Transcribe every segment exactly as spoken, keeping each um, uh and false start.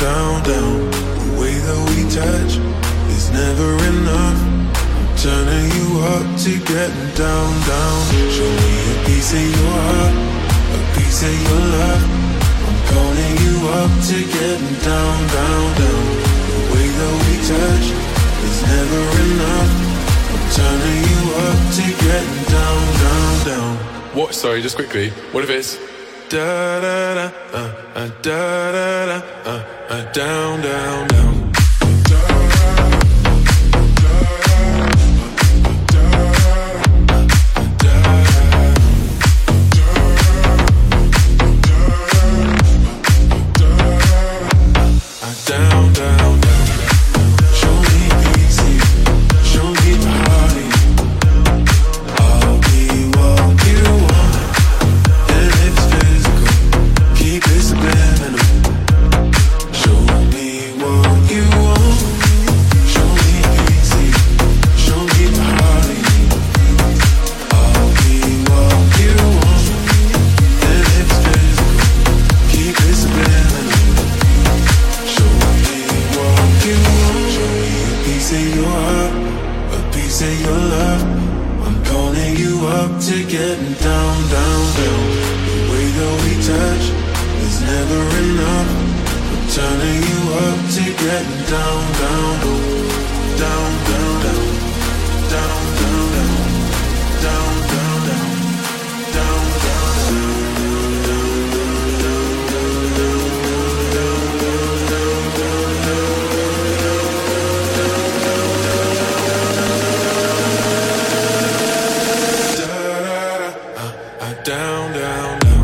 down, down. The way that we touch is never enough. I'm turning you up to getting down, down. Show me a piece of your heart, a piece of your love. I'm calling you up to getting down, down, down. The way that we touch is never enough. I'm turning you up to getting down, down, down. What? Sorry, just quickly. What if it's da da da uh, uh, da da da uh, uh, down, down, down. Down, down, down. Show me easy, show me party. I'll be what you want, and if it's physical, keep it subliminal. Show me what you want. Show me easy, show me party. I'll be what you want, and if it's physical, keep it subliminal. Piece of your heart, a piece of your love. I'm calling you up to getting down, down, down. The way that we touch is never enough. I'm turning you up to getting down, down, down, down, down, down, down, down, down, down, down, down, down, down, down.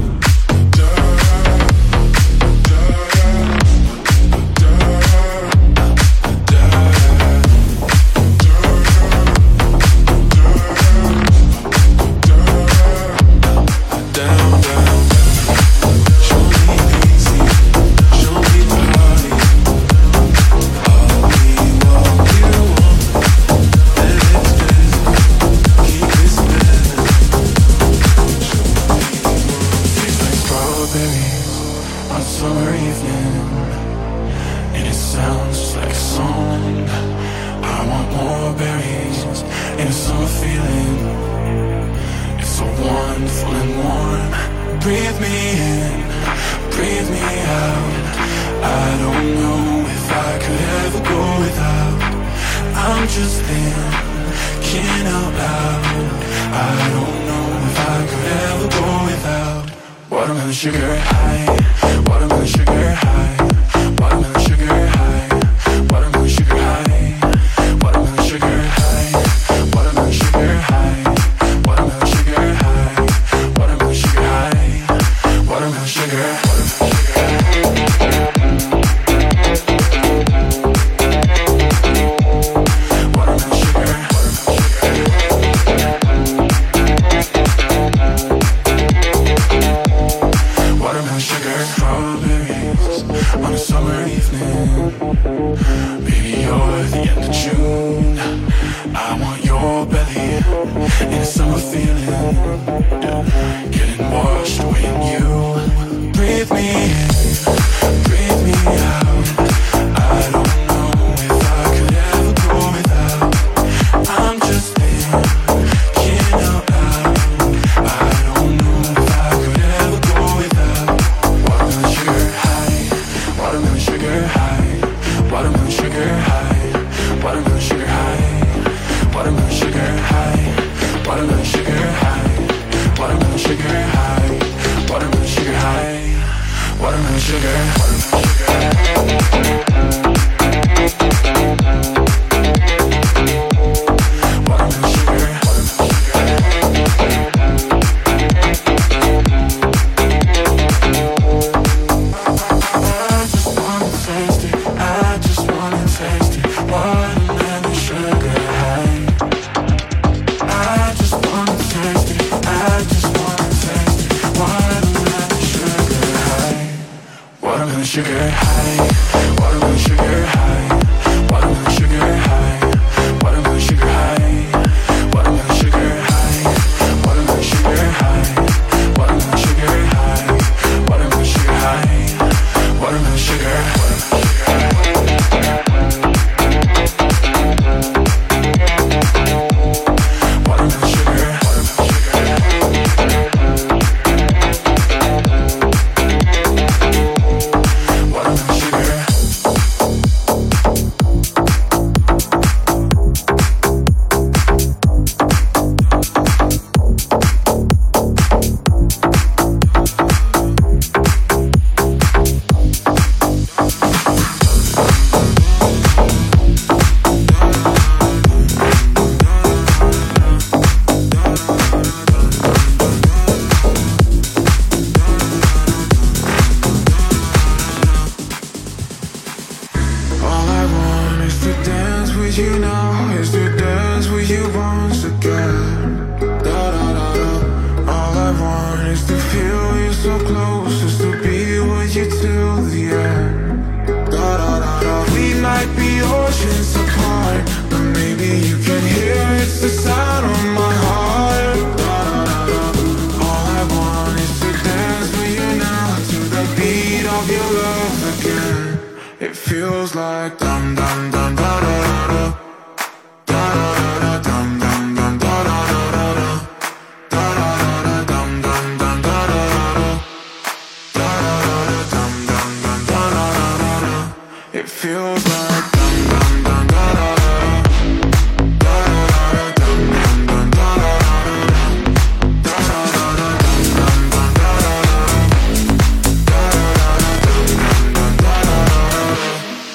to dance with you now, is to dance with you once again. Da da da da. All I want is to feel you so close, is to be with you till the end. Da da da da. We might be oceans apart, but maybe you can hear it's the sound of my heart. Da da da da. All I want is to dance with you now, to the beat of your love again. It feels like dum dum dum da da da da. Da da da da dum dum dum da da da da da. Da da da da dum dum dum da da da da. Da da da da dum dum dum da da da da da. It feels like dum dum dum da da da da. Da da da da dum dum dum da da da da. Da da da da dum dum dum da da da da. Da da da da dum dum dum da da da da.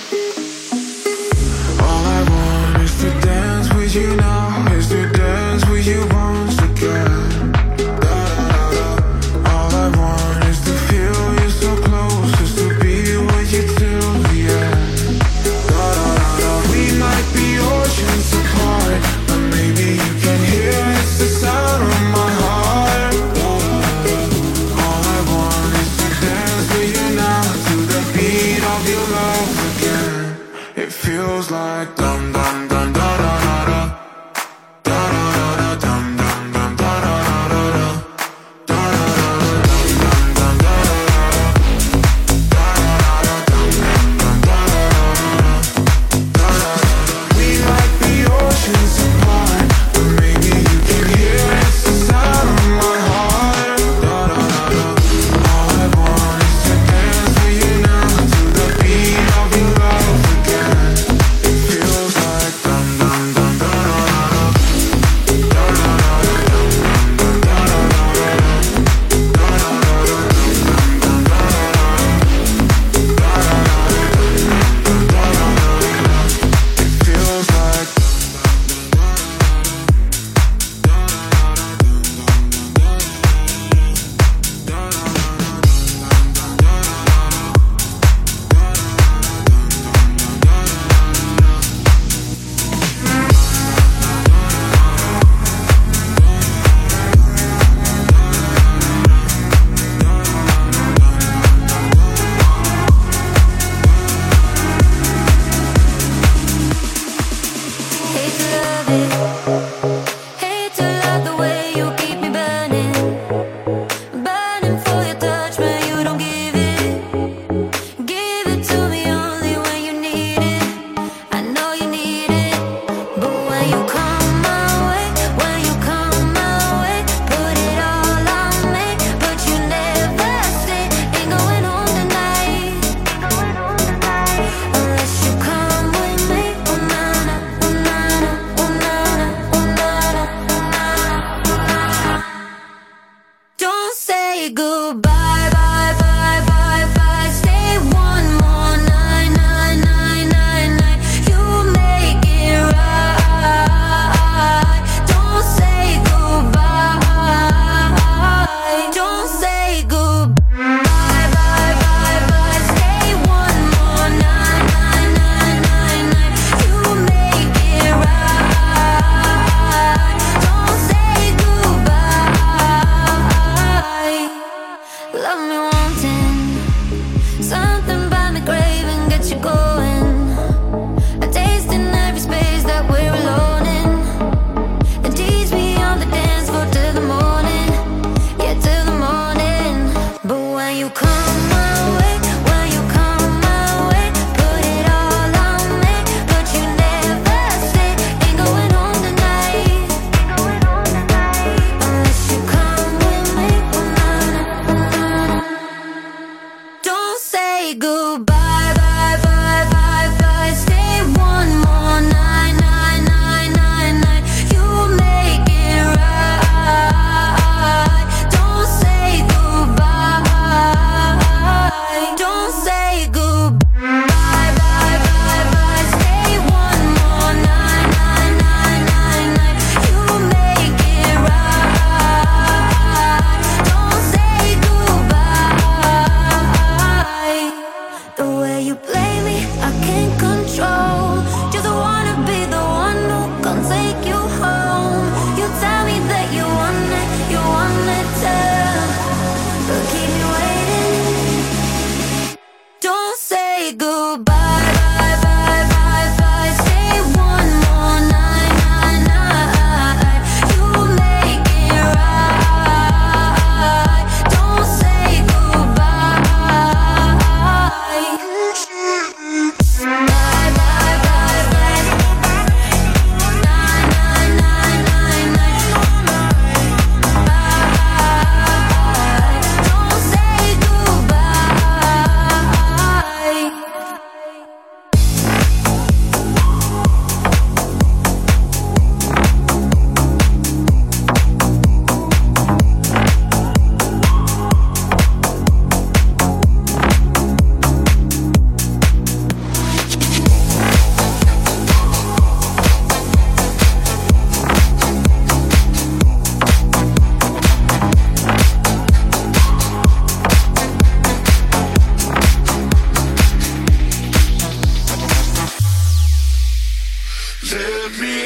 All I want is to dance with you now, is to dance with you once again. Da da da da. All I want is to feel you so close, is to be with you till the end. Da da da da. We might be oceans apart, but maybe you can hear it's the sound of my heart. Da da da da. All I want is to dance with you now, to the beat of your love again. It feels like dum dum dum da da da da. Da da da da dum dum dum da da da da da. Da da da da dum dum dum da da da da. Da da da da dum dum dum da da da da. Da da da da. We might be oceans apart, but maybe you can hear it's the sound of my heart. Da da da da. All I want is to dance with you now, to the beat of your love again. It feels like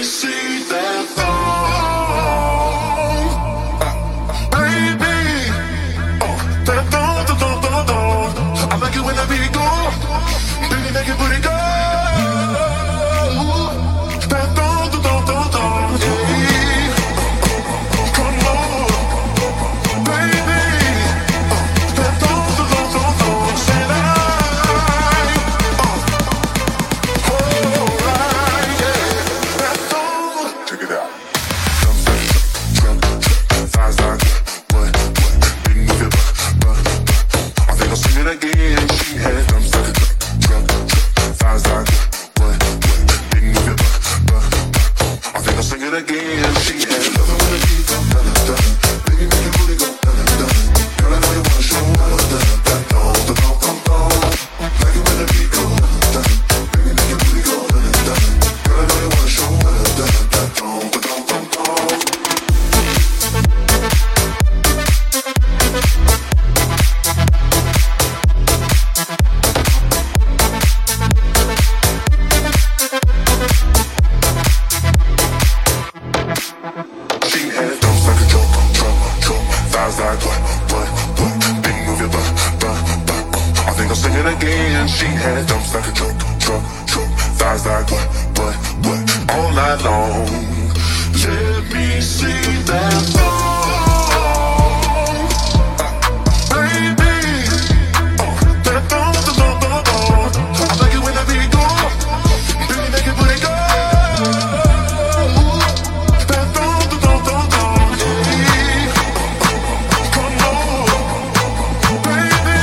see that thong, baby. Oh, that thong, thong, thong, thong, thong. I like it when the beat go, baby, make it booty go. That thong, thong, thong, thong, thong, yeah. Come on, baby. Oh, that thong, thong, thong, thong, thong. Say that. Again, she had them stuck in truck, truck, thighs like what, what, didn't move your butt, butt. I think I'll sing it again. She had love it when the beat go da da da, baby make your booty go da da da. Girl I know you wanna show da da da, that don't, da don't, don't, don't. Like it when the beat go da da da, baby make your booty go da da da. Girl I know you wanna show da da da, that don't, da don't, don't, don't. Again, she had dumps like a truck, truck, truck, thighs like what, what, what, all night long. Let me see that thong, baby. Oh, that thong, that thong, thong, thong. I like it when the beat go, baby, make it booty go. That thong, that thong, thong, thong, yeah. Come on, baby.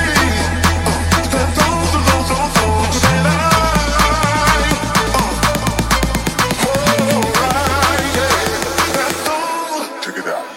Check it out.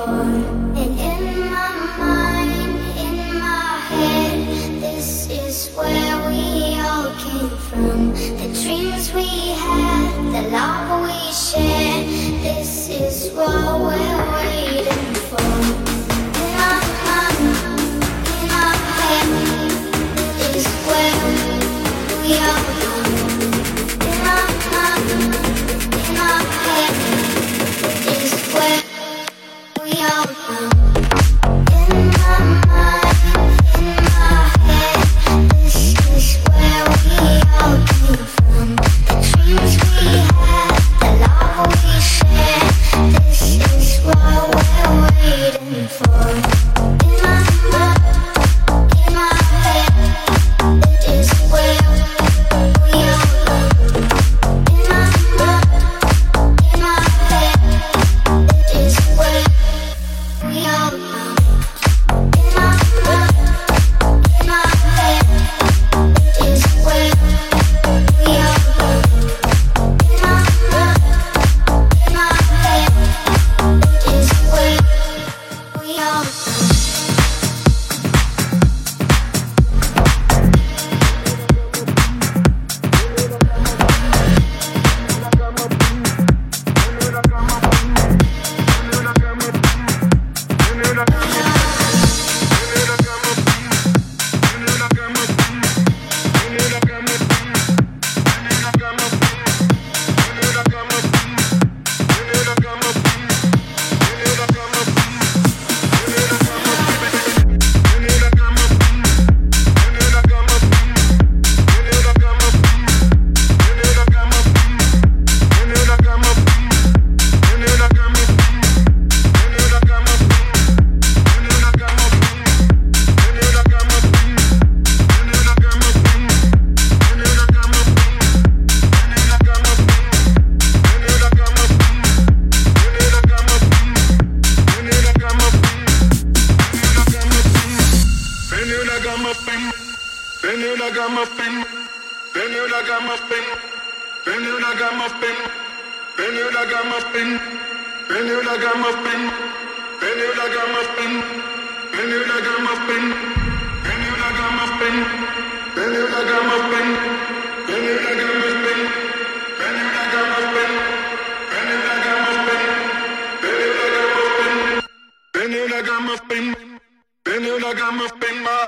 And in my mind, in my head, this is ragamuffin. Been a ragamuffin. Been a ragamuffin. Been a ragamuffin. Been a ragamuffin. Been a ragamuffin. Been a ragamuffin. Been a ragamuffin. Been a ragamuffin. Been a ragamuffin. Been a ragamuffin. Been a ragamuffin. Been a ragamuffin. Been a ragamuffin. Been a ragamuffin. Been a ragamuffin. My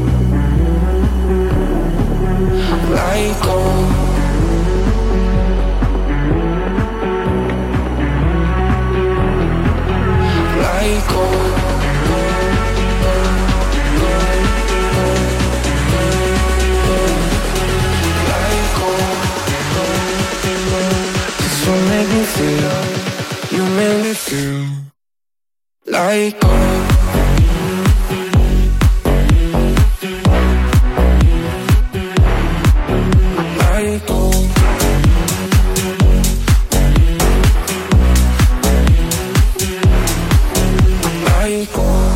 like gold. Like gold. Like gold. Like gold.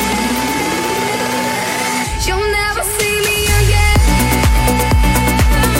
You'll never see me again.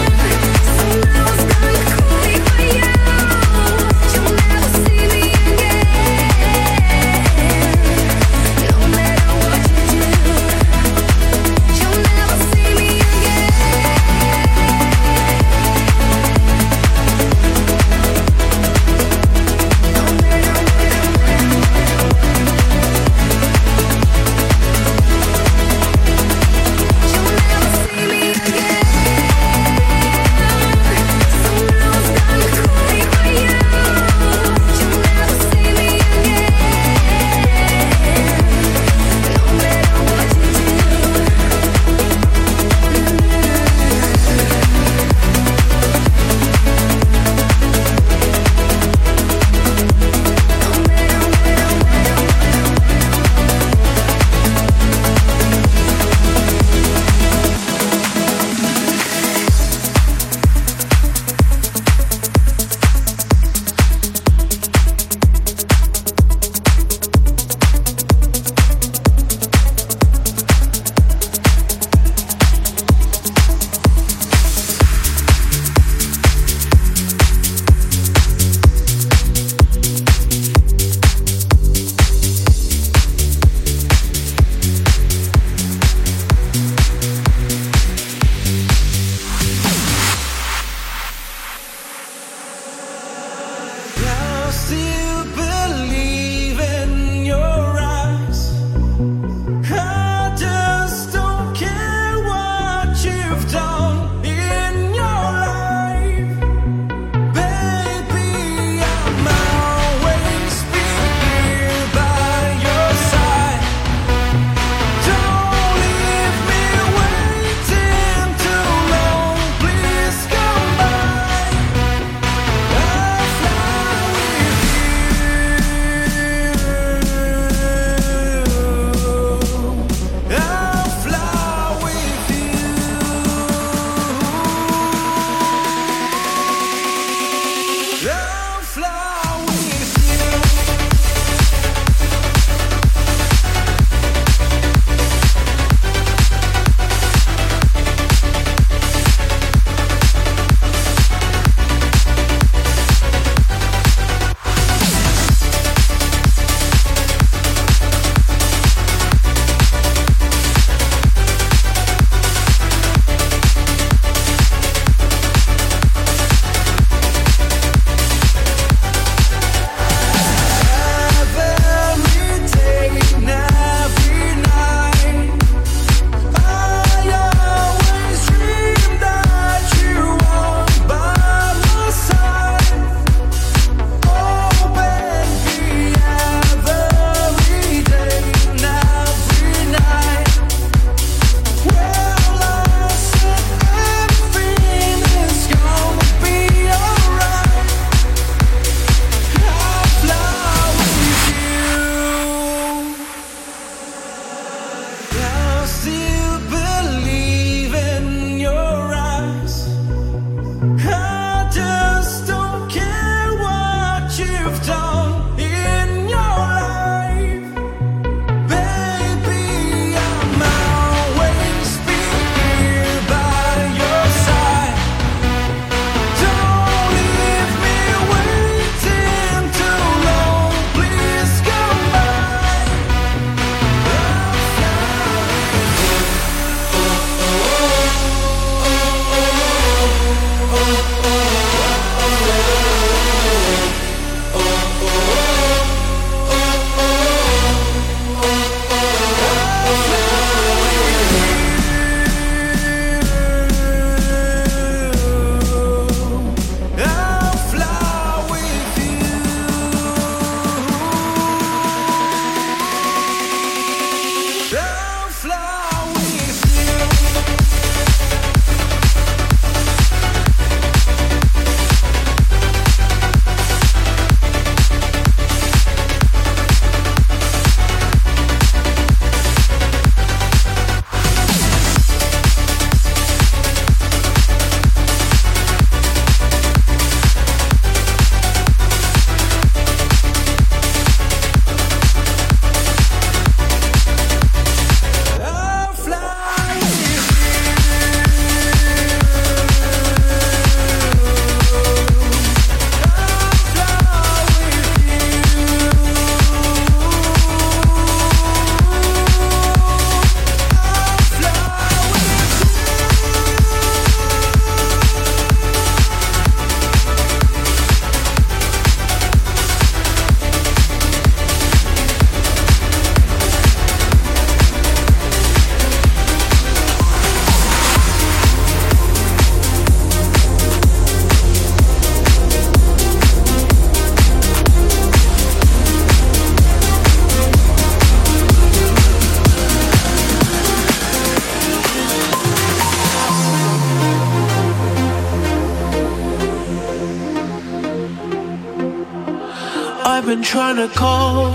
I've been trying to call.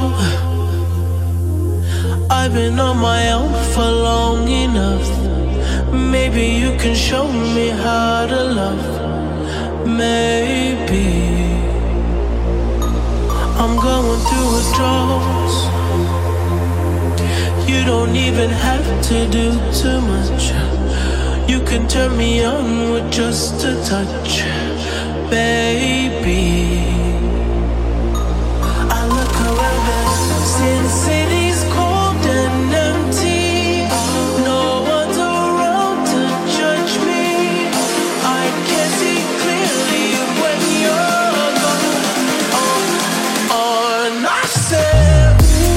I've been on my own for long enough. Maybe you can show me how to love. Maybe I'm going through withdrawals. You don't even have to do too much. You can turn me on with just a touch, baby. I look around and since city's cold and empty, no one's around to judge me. I can see clearly when you're gone. Oh, oh, I said,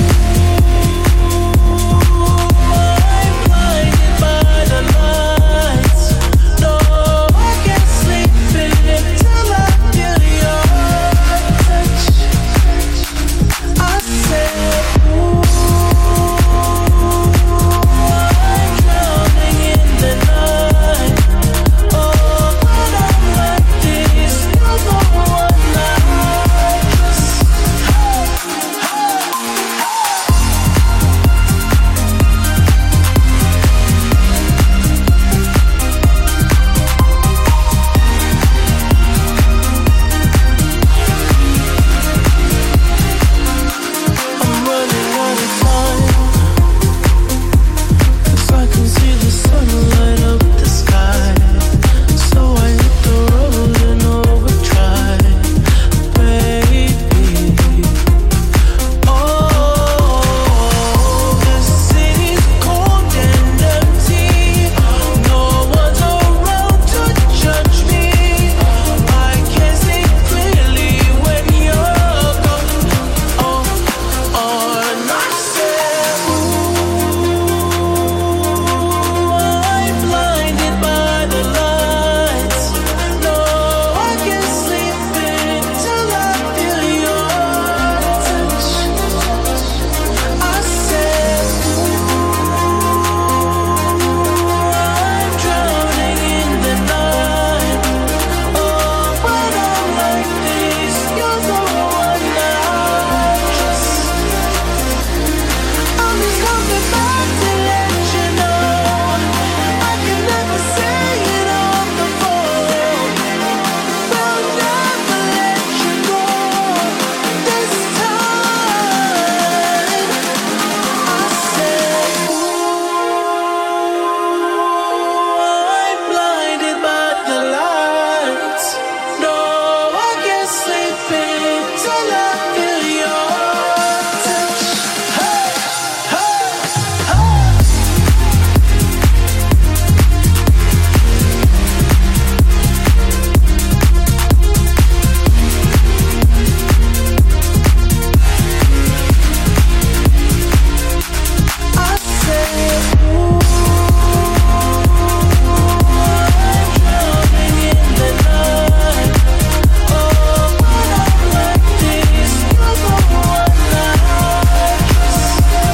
I'm blinded by the lights. No, I can't sleep until I feel your touch. I said, ooh, I'm drowning in the night. Oh, when I'm like this, you're the one I just. I'm running out of time, 'cause I can see the sun light up the sky. So I hit the road and overdrive, baby. Oh, the city's cold and empty. No one's around to judge me. I can see clearly when you're gone. Oh, oh, and I said, ooh, I'm blinded by the lights. No, I can't sleep until I feel your touch. I said, I'm drowning in the night. Oh, when I'm like this, you're the one I trust. I'm just coming back to let you know I can never say it on the phone. Will never let you go this time. I said, ooh, I'm blinded by the lights. No, I can't sleep until I feel your touch. Hey, hey, hey. I said, ooh, I'm drowning in the night. Oh, when I'm like this, you're the one I trust.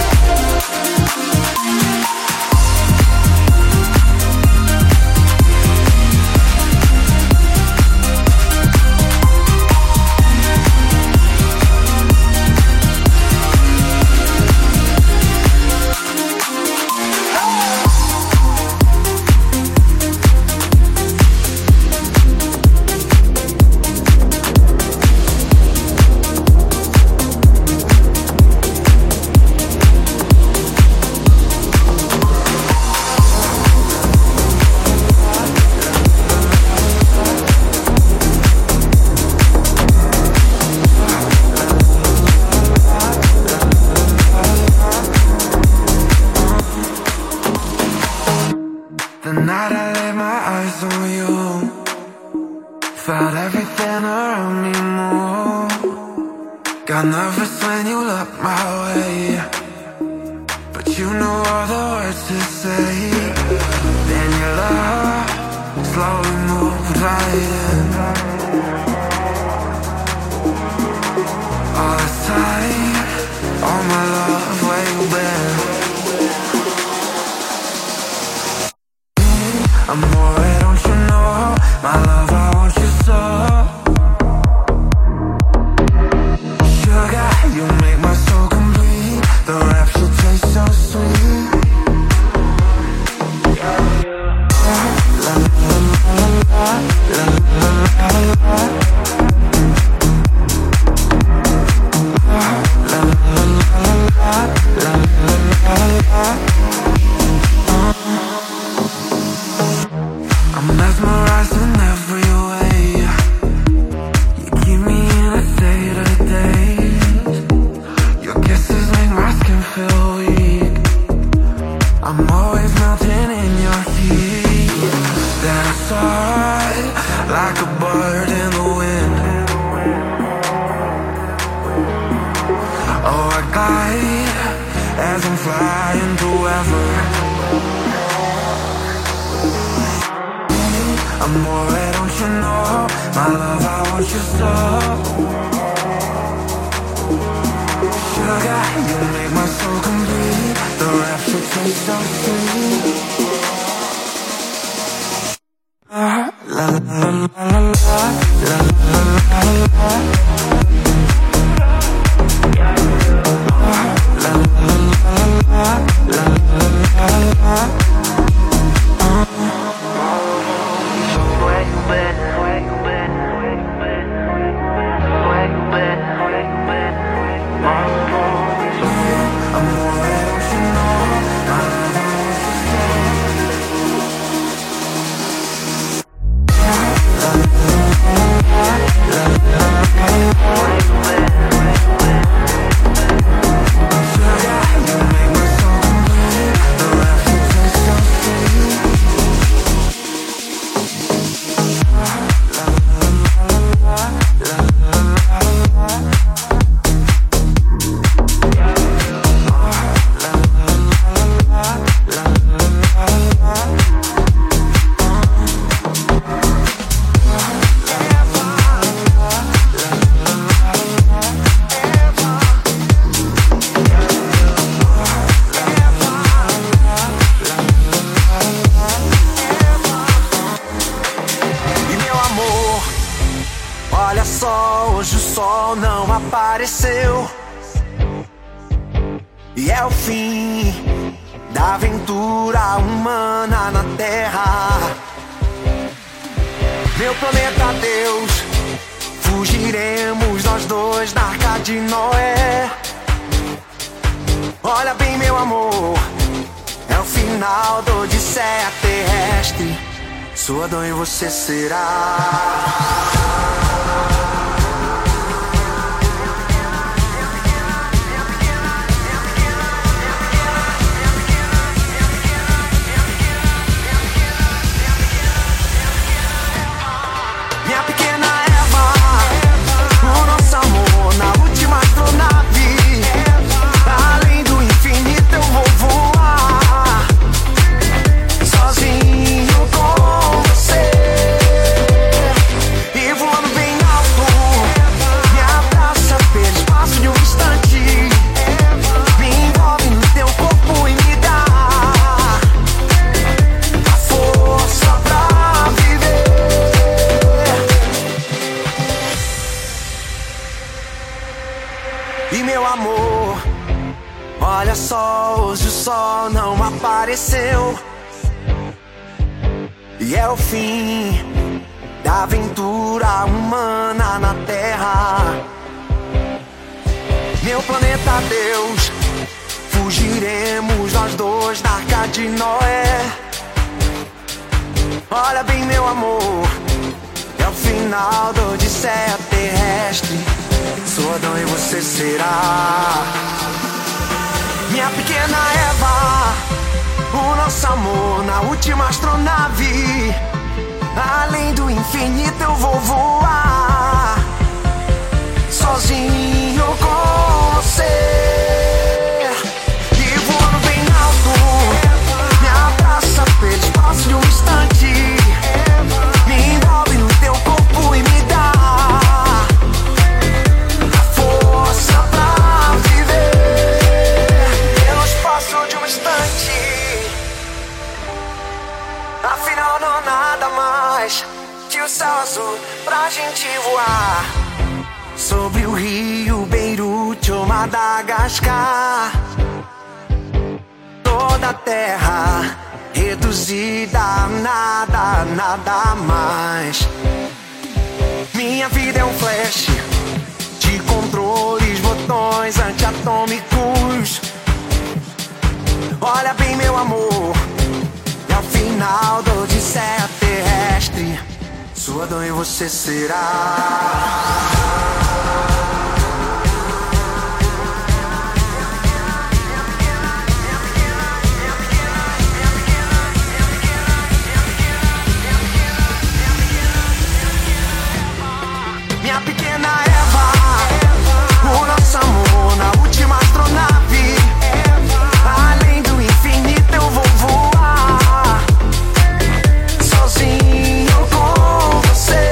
The night I laid my eyes on you, felt everything around me move. Got nervous when you looked my way, but you knew all the words to say. Then your love slowly moved right in. All this time, all my love, where you been? Amore, don't you know, my love, I want you so. Sugar paradise in every way. You keep me in a state of daze. Your kisses make my skin feel weak. I'm always melting in your heat. Then I soar like a bird in the wind. Oh, I glide as I'm flying through ever. Amore, don't you know, my love, I want you so. Sugar, you make my soul complete. The rapture tastes so sweet. Ah, la la la la la la la la la. Ah, la la la la la la la la. E é o fim da aventura humana na Terra. Meu planeta Deus, fugiremos nós dois da Arca de Noé. Olha bem, meu amor, é o final da Odisseia terrestre. Sua dor e você será. E meu amor, olha só, hoje o sol não apareceu. E é o fim da aventura humana na Terra. Meu planeta Deus, fugiremos nós dois da Arca de Noé. Olha bem, meu amor, é o final da Odisseia terrestre. Sou Adão e você será minha pequena Eva, o nosso amor na última astronave. Além do infinito eu vou voar, sozinho com você. E voando bem alto, me abraça pelo espaço de um instante. Me envolve no teu corpo e me dá afinal não há nada mais que o céu azul pra gente voar. Sobre o rio Beirute ou Madagascar, toda a terra reduzida a nada, nada mais. Minha vida é um flash de controles, botões antiatômicos. Olha bem, meu amor, é o fim final da odisseia terrestre. Sua dor e você será. Minha pequena Eva, o nosso amor na última astronave. Além do infinito eu vou voar, sozinho com você.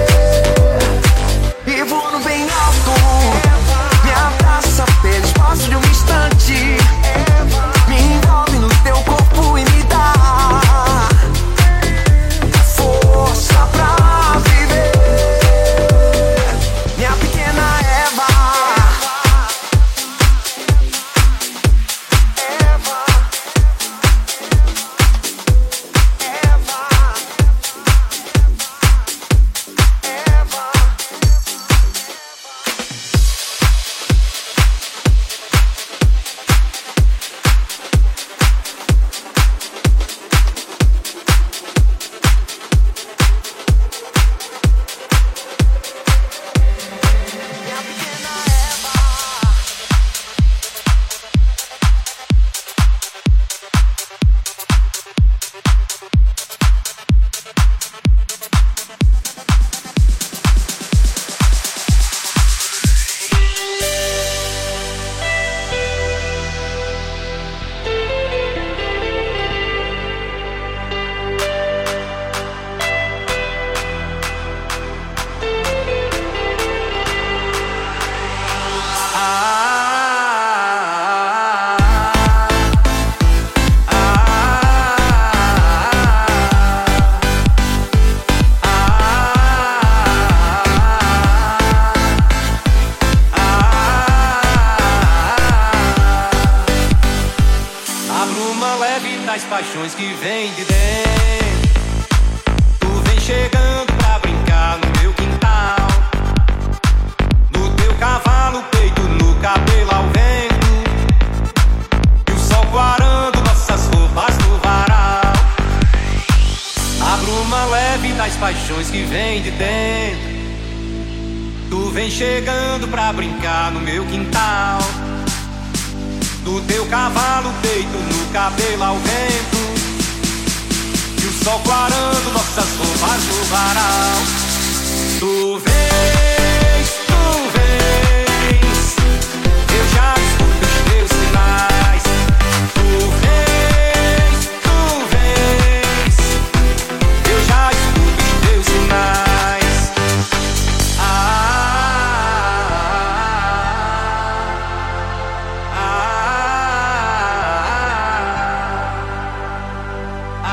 E voando bem alto, me abraça pelo espaço de um instante. Me envolve no teu corpo e me dá força pra viver. Minha pequena Eva, Eva, Eva, Eva. Minha pequena Eva. A bruma leve das paixões que vem de dentro. Tu vem chegando pra brincar no meu quintal. No teu cavalo, peito, no cabelo ao vento. E o sol quarando nossas roupas no varal. A bruma leve das paixões que vem de dentro. Tu vem chegando pra brincar no meu quintal. Do teu cavalo, peito, no cabelo ao vento. E o sol clarando nossas roupas no varal. Tu vens, tu vens, eu já escuto os teus sinais. Tu vens, tu vens, eu já escuto os teus sinais. Ah, ah, ah,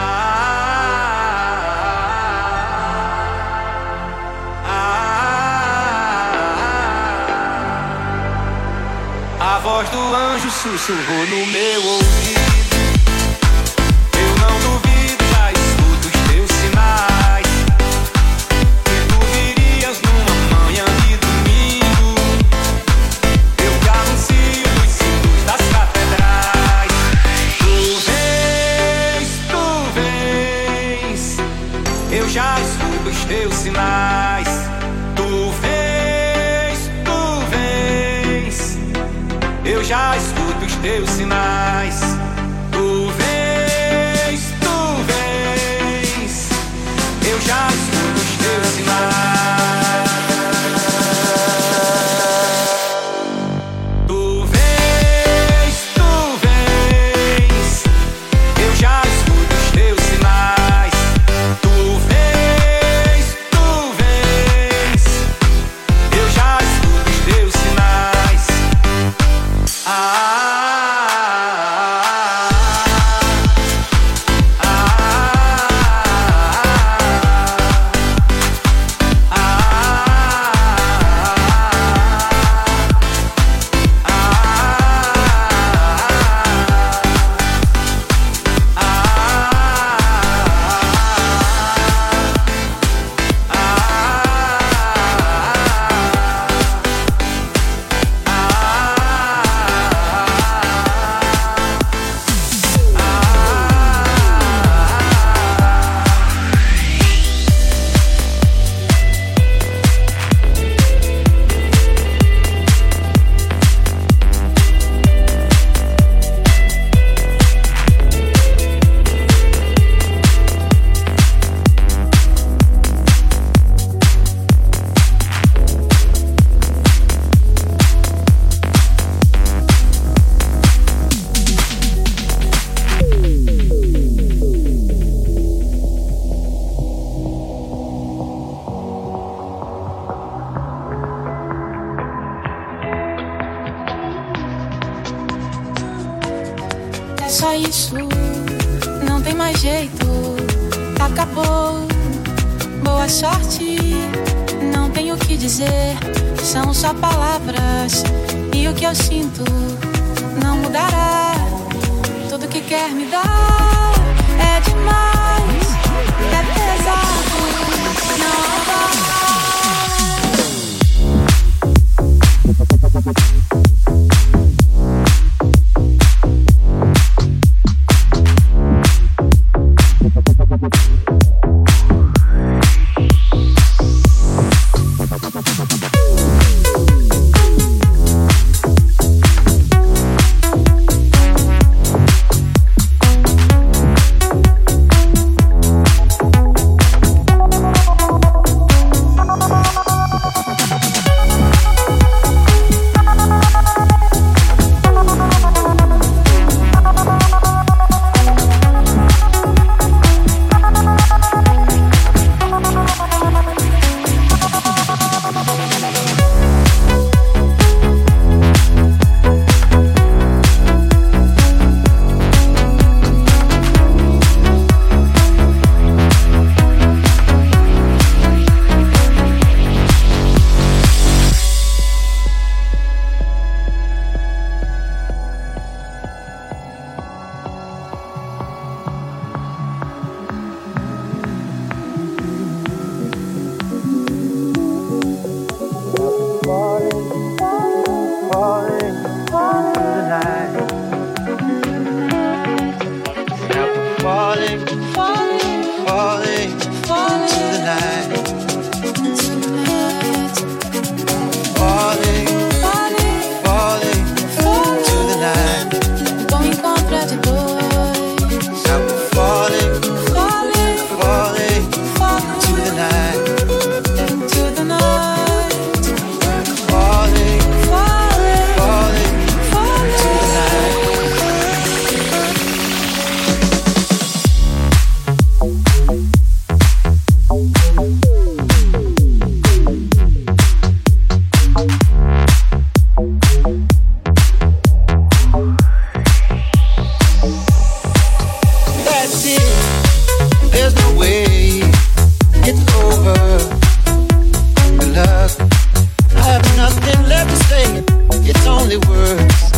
a voz do anjo sussurrou no meu ouvido. Eu não duvido, já escuto os teus sinais. Que tu virias numa manhã de domingo. Eu te anuncio nos símbolos das catedrais. Tu vens, tu vens, eu já escuto os teus sinais. Tu vens, tu vens, eu já escuto os teus sinais. Tu vens, tu vens, eu já escuto os teus sinais. Tu vens, tu vens, eu já escuto os teus sinais. Tu vens, tu vens, eu já escuto os teus sinais. Ah, só isso, não tem mais jeito. Acabou, boa sorte. Não tenho o que dizer, são só palavras. E o que eu sinto não mudará. Tudo que quer me dar é demais, é pesado, não dá. It's only words.